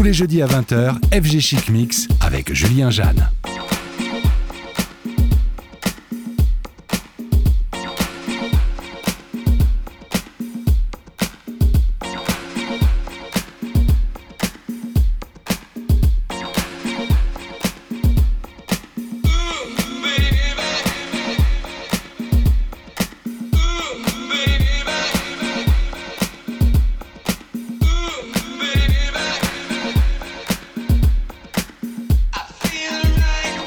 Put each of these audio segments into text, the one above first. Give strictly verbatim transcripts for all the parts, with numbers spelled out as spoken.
Tous les jeudis à vingt heures, F G Chic Mix avec Julien Jeanne. Feel right.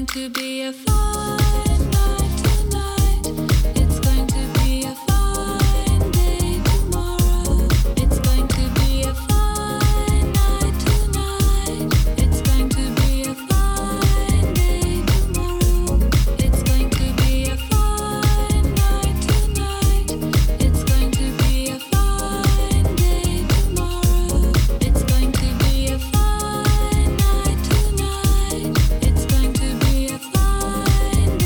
to be a fine night tonight. It's going to be a fine day tomorrow. It's going to be a fine night tonight. It's going to be a fine day tomorrow. It's going to be a fine night tonight. It's going to be a fine day tomorrow. It's going to be a fine night tonight. It's going to be a fine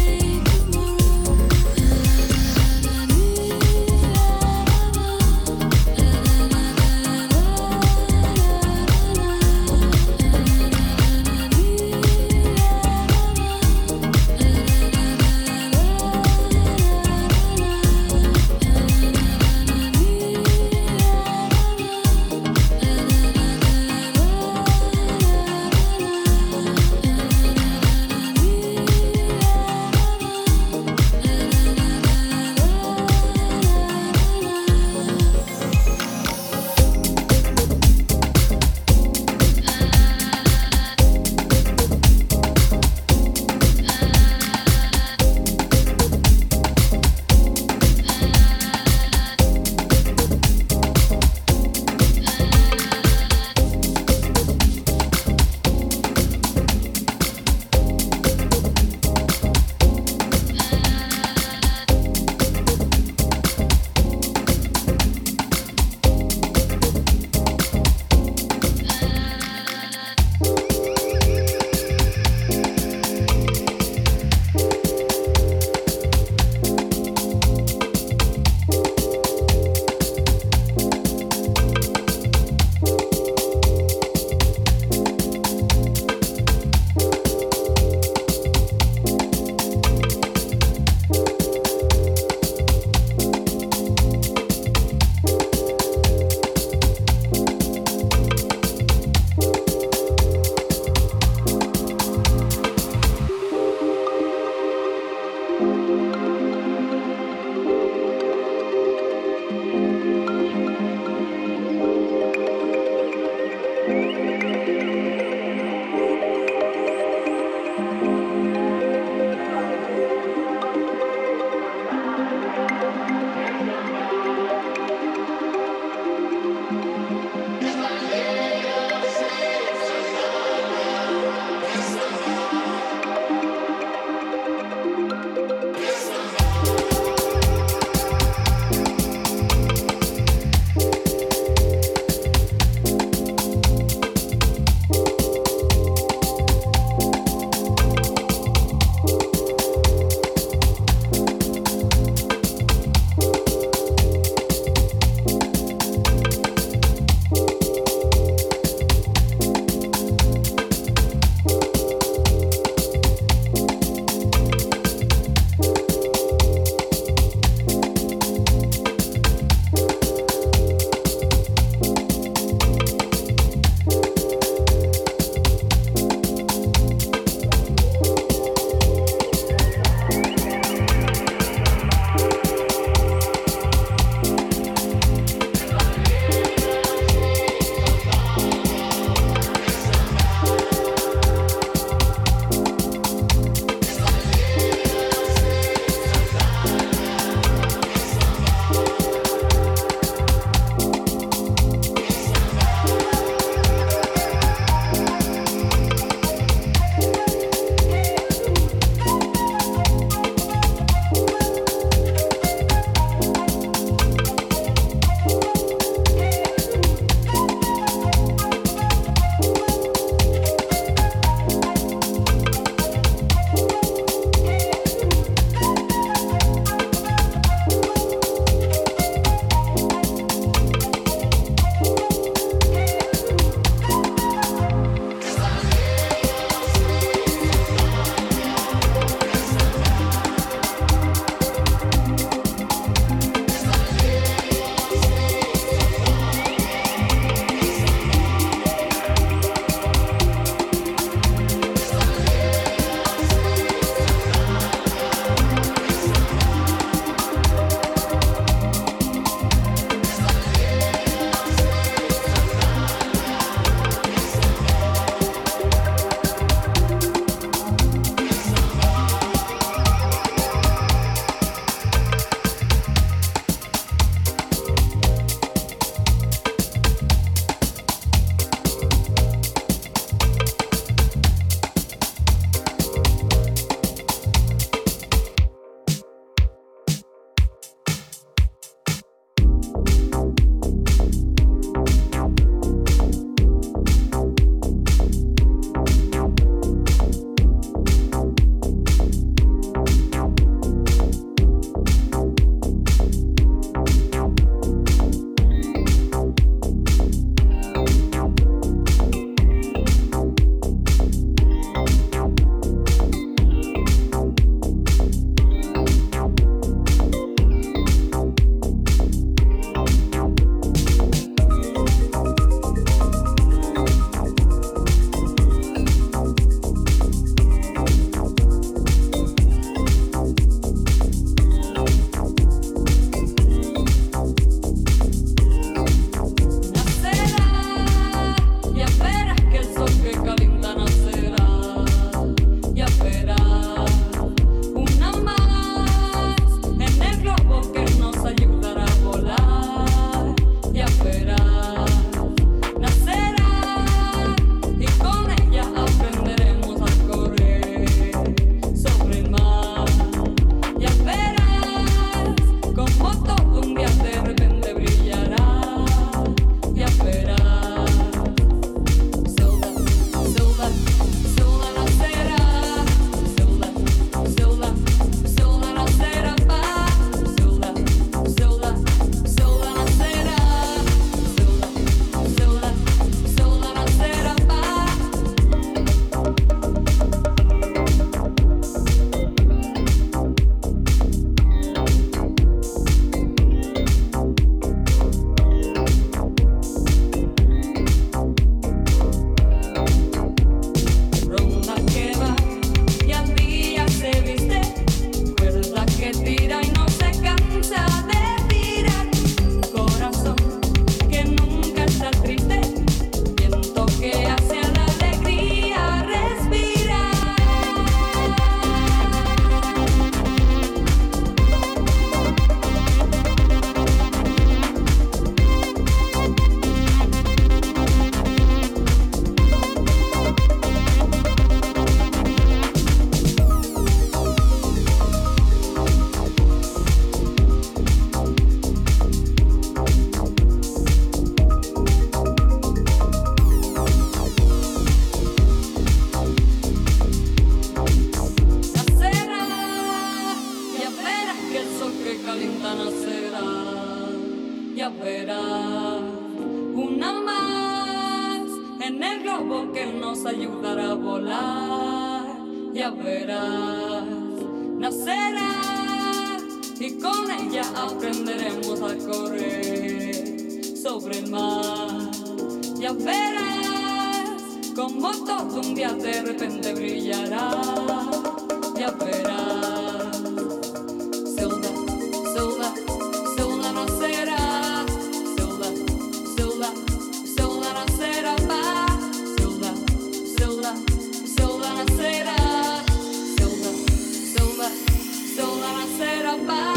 verás, nacerá y con ella aprenderemos a correr sobre el mar. Ya verás como todo un día de repente brillará. Ya verás, sola, sola, sola nacerá, sola, sola, sola nacerá, va, sola, sola, sola nacerá, sola, sola, sola nacerá, va.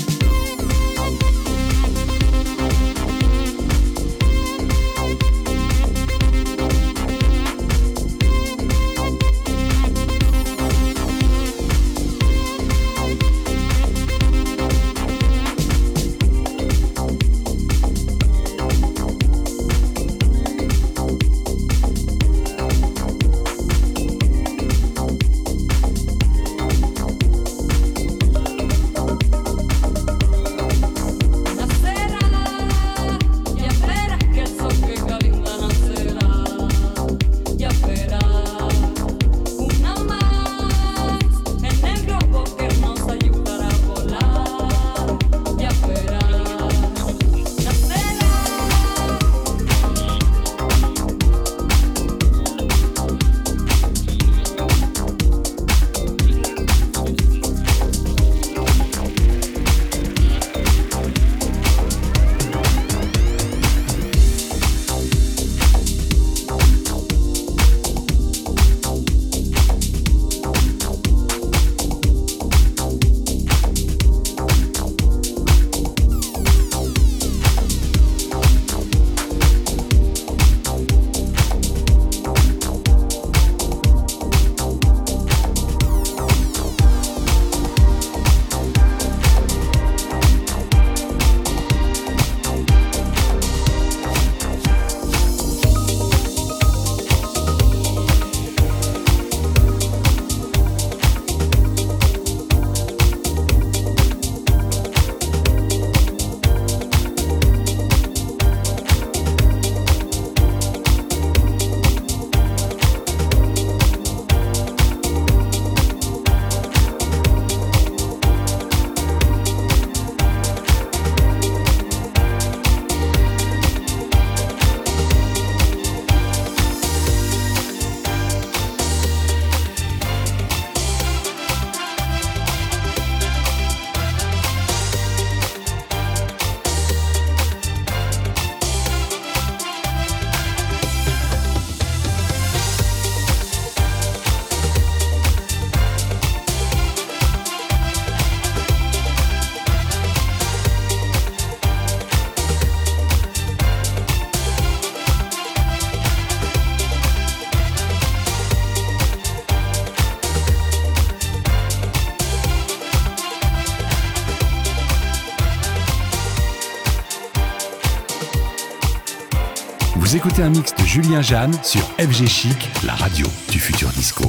Vous écoutez un mix de Julien Jeanne sur F G Chic, la radio du futur disco.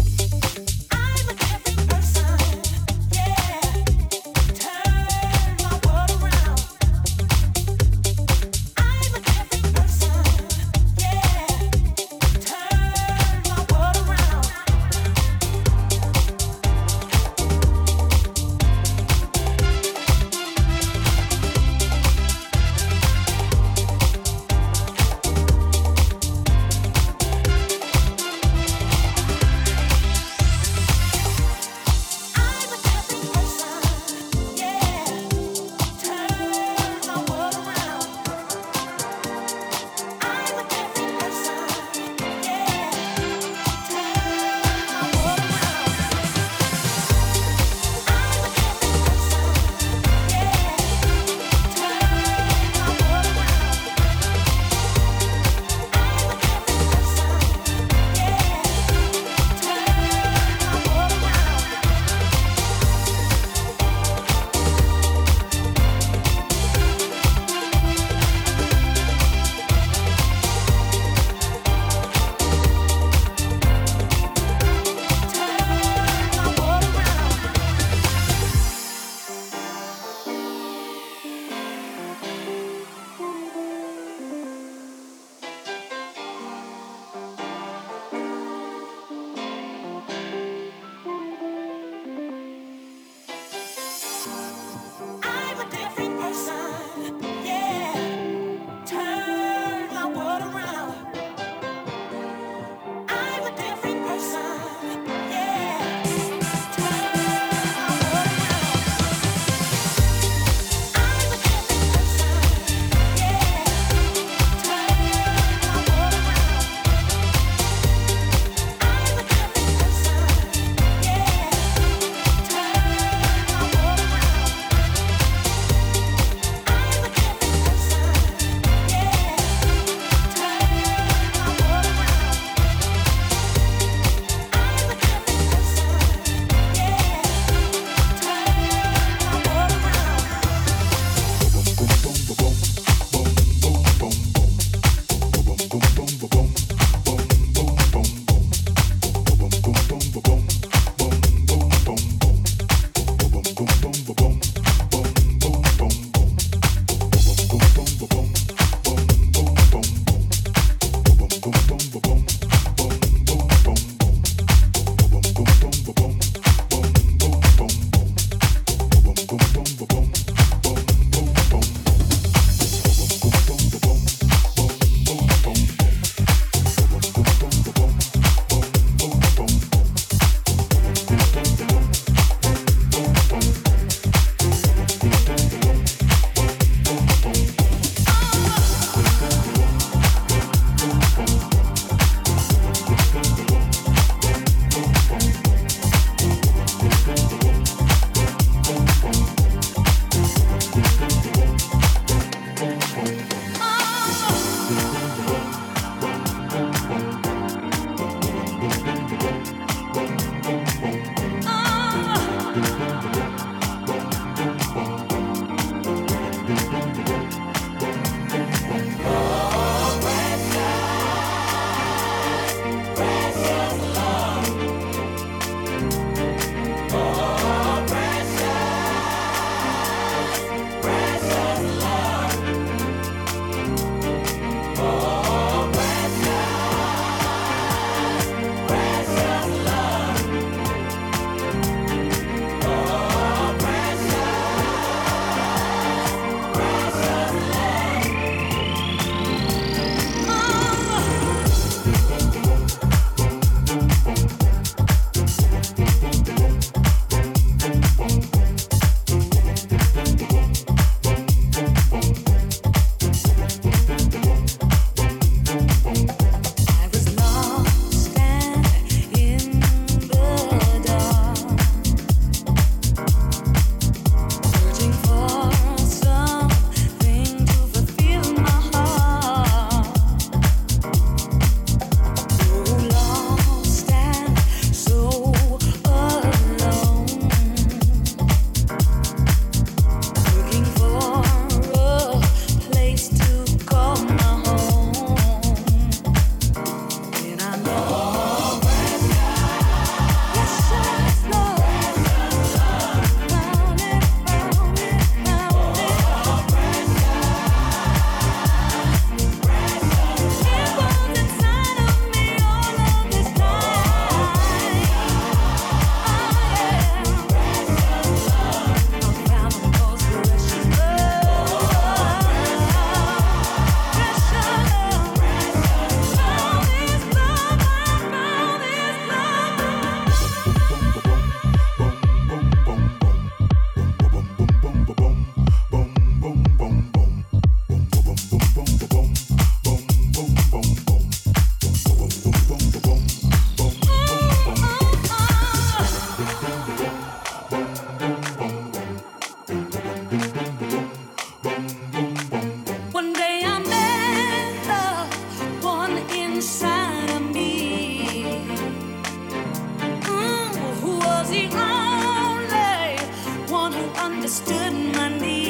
understood my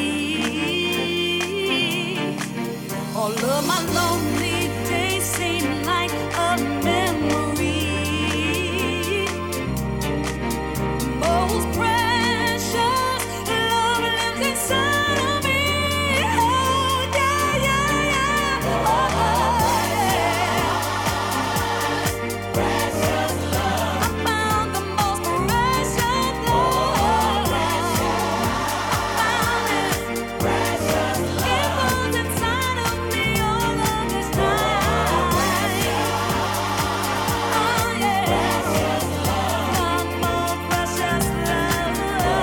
need. All of my lonely days seem like a memory. Most precious love lives inside of me. Oh, yeah, yeah, yeah. Oh, yeah. Precious love. I found the most precious love. I found it. Precious love. It was inside of me all of this time. Oh, yeah. Precious love. My most precious love.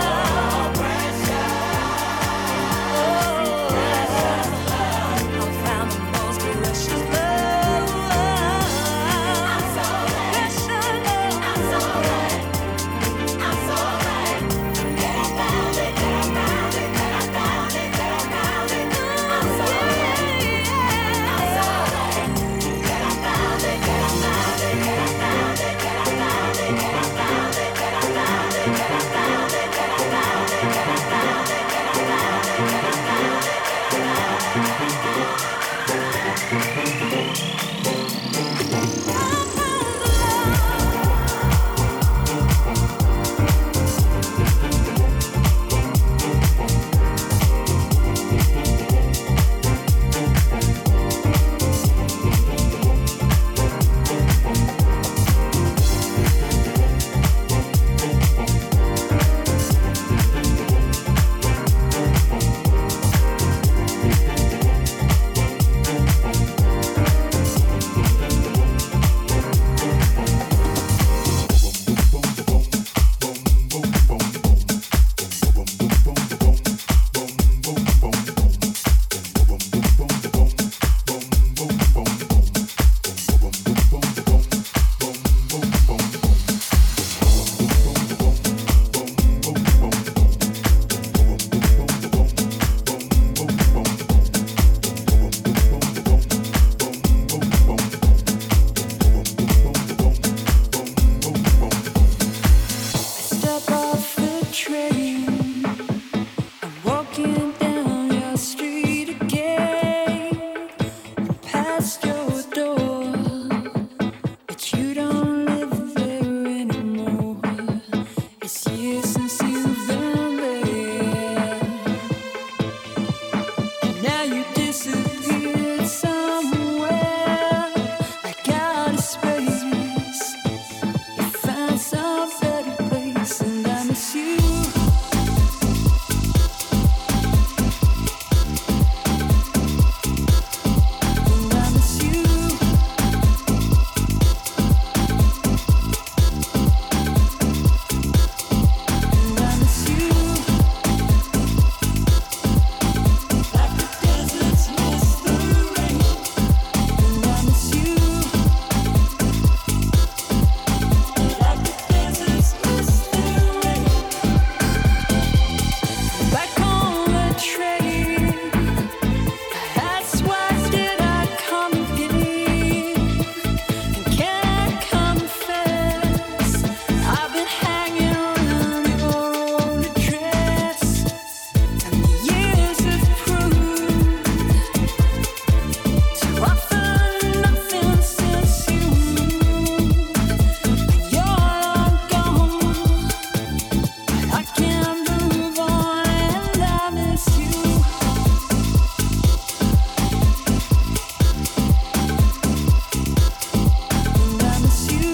I found the most precious love. I'm so precious love. I'm so right. I'm so right. That I found it. That I found it. That I found it. That I found it. I'm so right. I'm so right. That I found it. That I found it. That I found it. That I found it. That I found it. That I found it. That I found it. That I found it. That I found it. That I found it. That I found it. Step off the train, I'm walking down your street again, past your door, but you don't live there anymore. It's years since you've been there, and now you disappeared somewhere, like out of space. You found some better place, and I miss you. And I miss you. And I miss you. Like the deserts miss the rain. And I miss you. Like the deserts miss the rain. Back on the train, that's why did I come again? And can I confess, I've been hanging around your old address, and the years have proved to offer nothing since you moved. You're long gone, but I can't move on, and I miss you. And I miss you.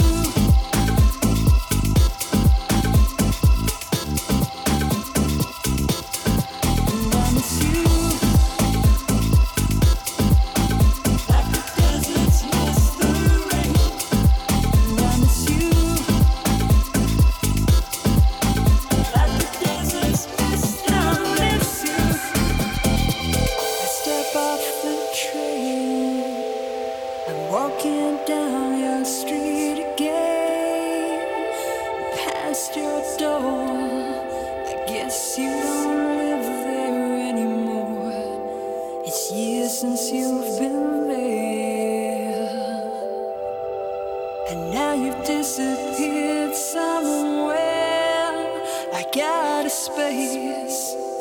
And I miss you. Like the deserts miss the rain. And I miss you. Like the deserts miss the rain. I miss you. I step off the train, I'm walking down your street again, past your door. I guess you don't live there anymore. It's years since you've been there, and now you've disappeared somewhere, like out of space.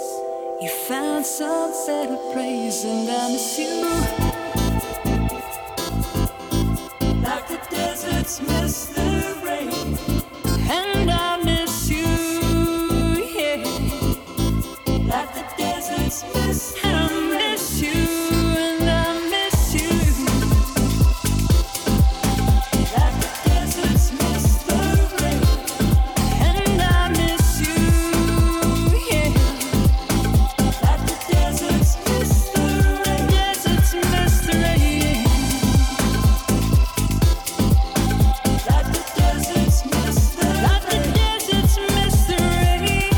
You found some better place and I miss you. Like the deserts miss the rain. And I miss you, yeah. Like the deserts miss the rain. I miss you and I miss you. Like the deserts miss the rain. And I miss you, yeah. Like the deserts miss the rain. Deserts miss the rain. Like the deserts miss the rain. Like the deserts miss the rain.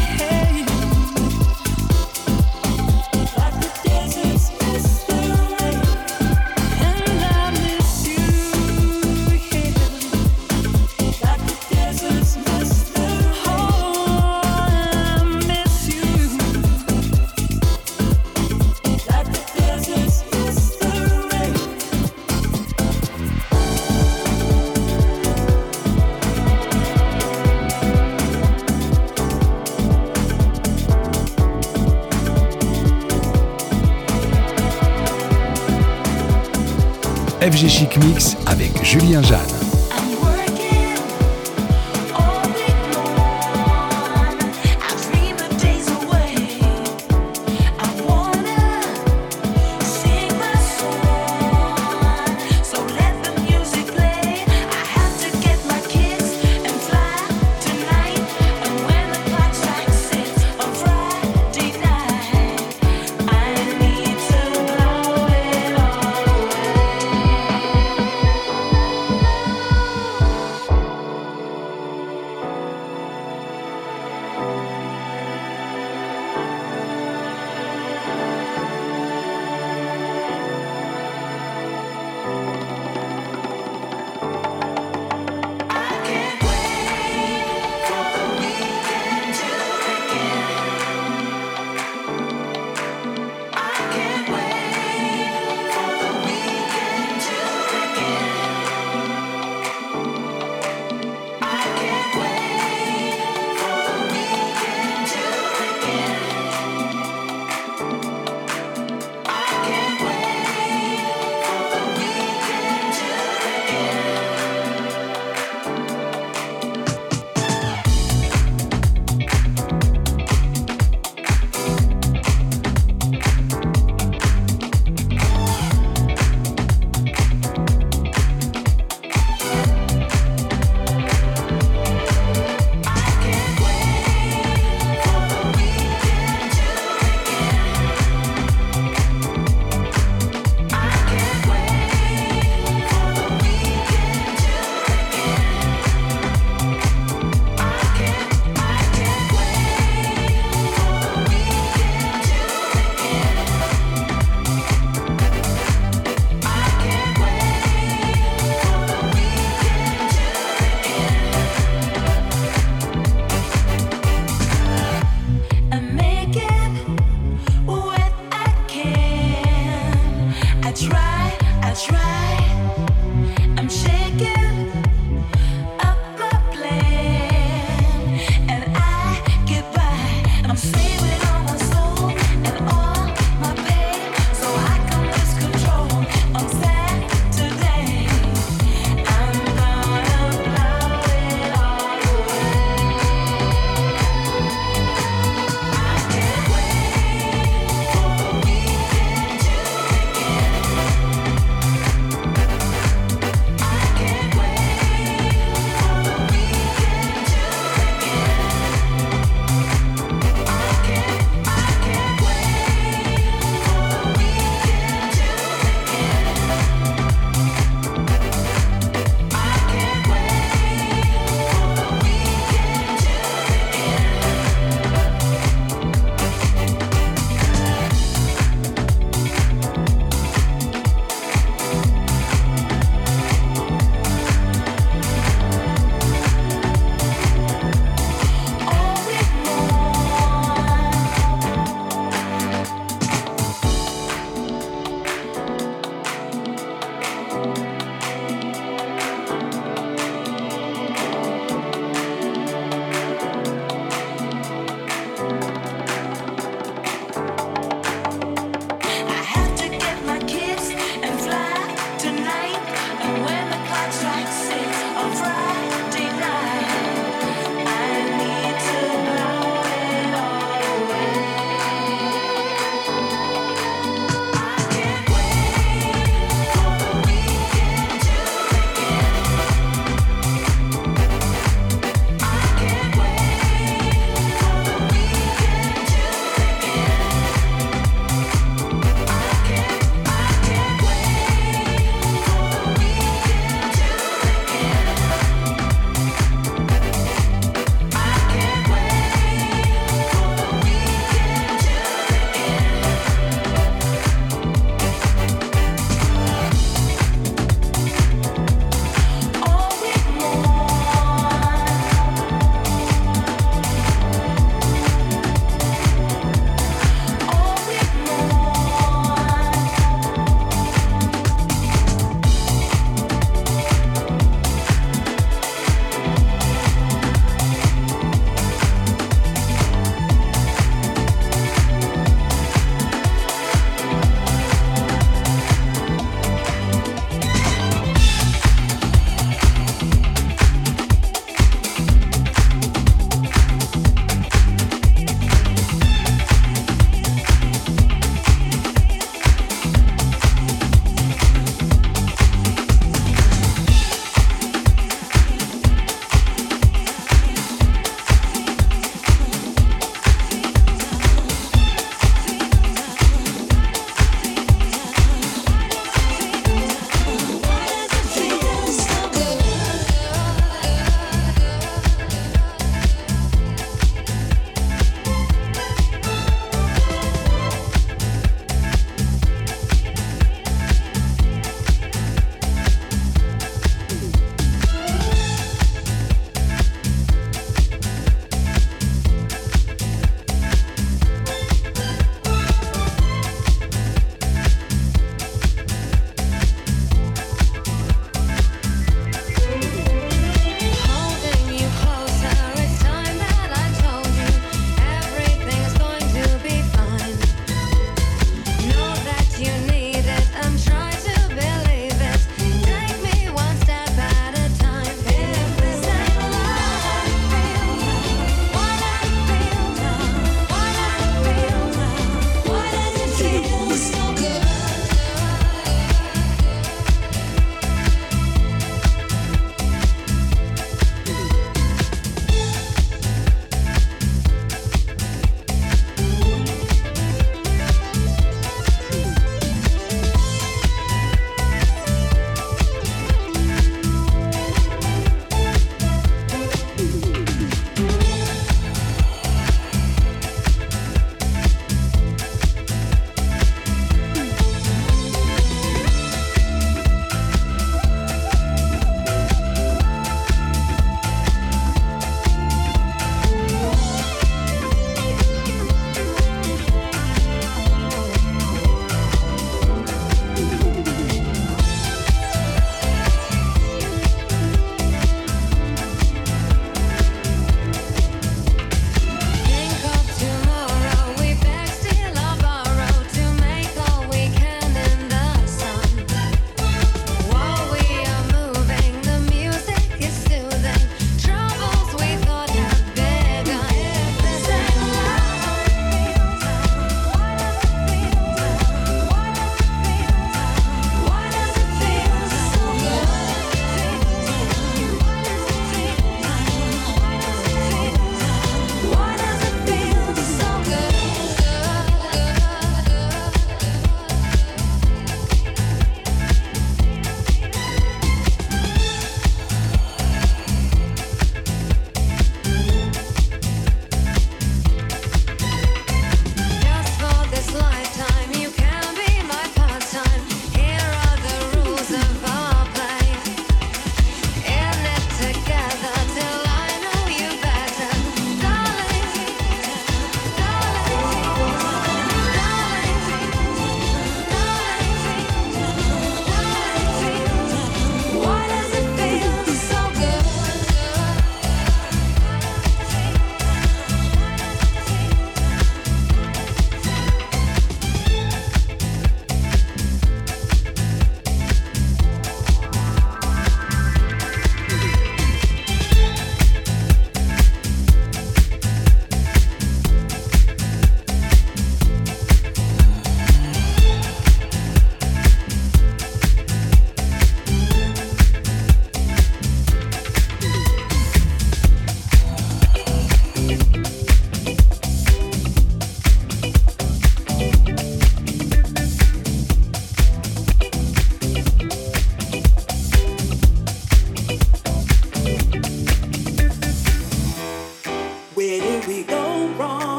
Like the deserts miss the rain. And I miss you, yeah. Like the deserts miss the rain. Oh, I miss you. Like the deserts miss the rain. F G Chic Mix avec Julien Jeanne. I'm working all week long. I dream the days away. I wanna sing my song. So let the music play. I have to get my kicks and fly tonight. And when the clock strikes six on Friday night, I need to blow it all away.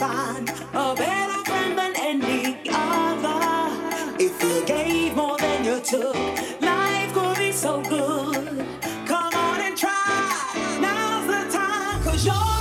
find a better friend than any other. If you gave more than you took, life could be so good. Come on and try. Now's the time, 'cause you're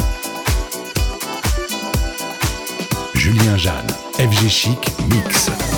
Julien Jeanne, F G Chic Mix.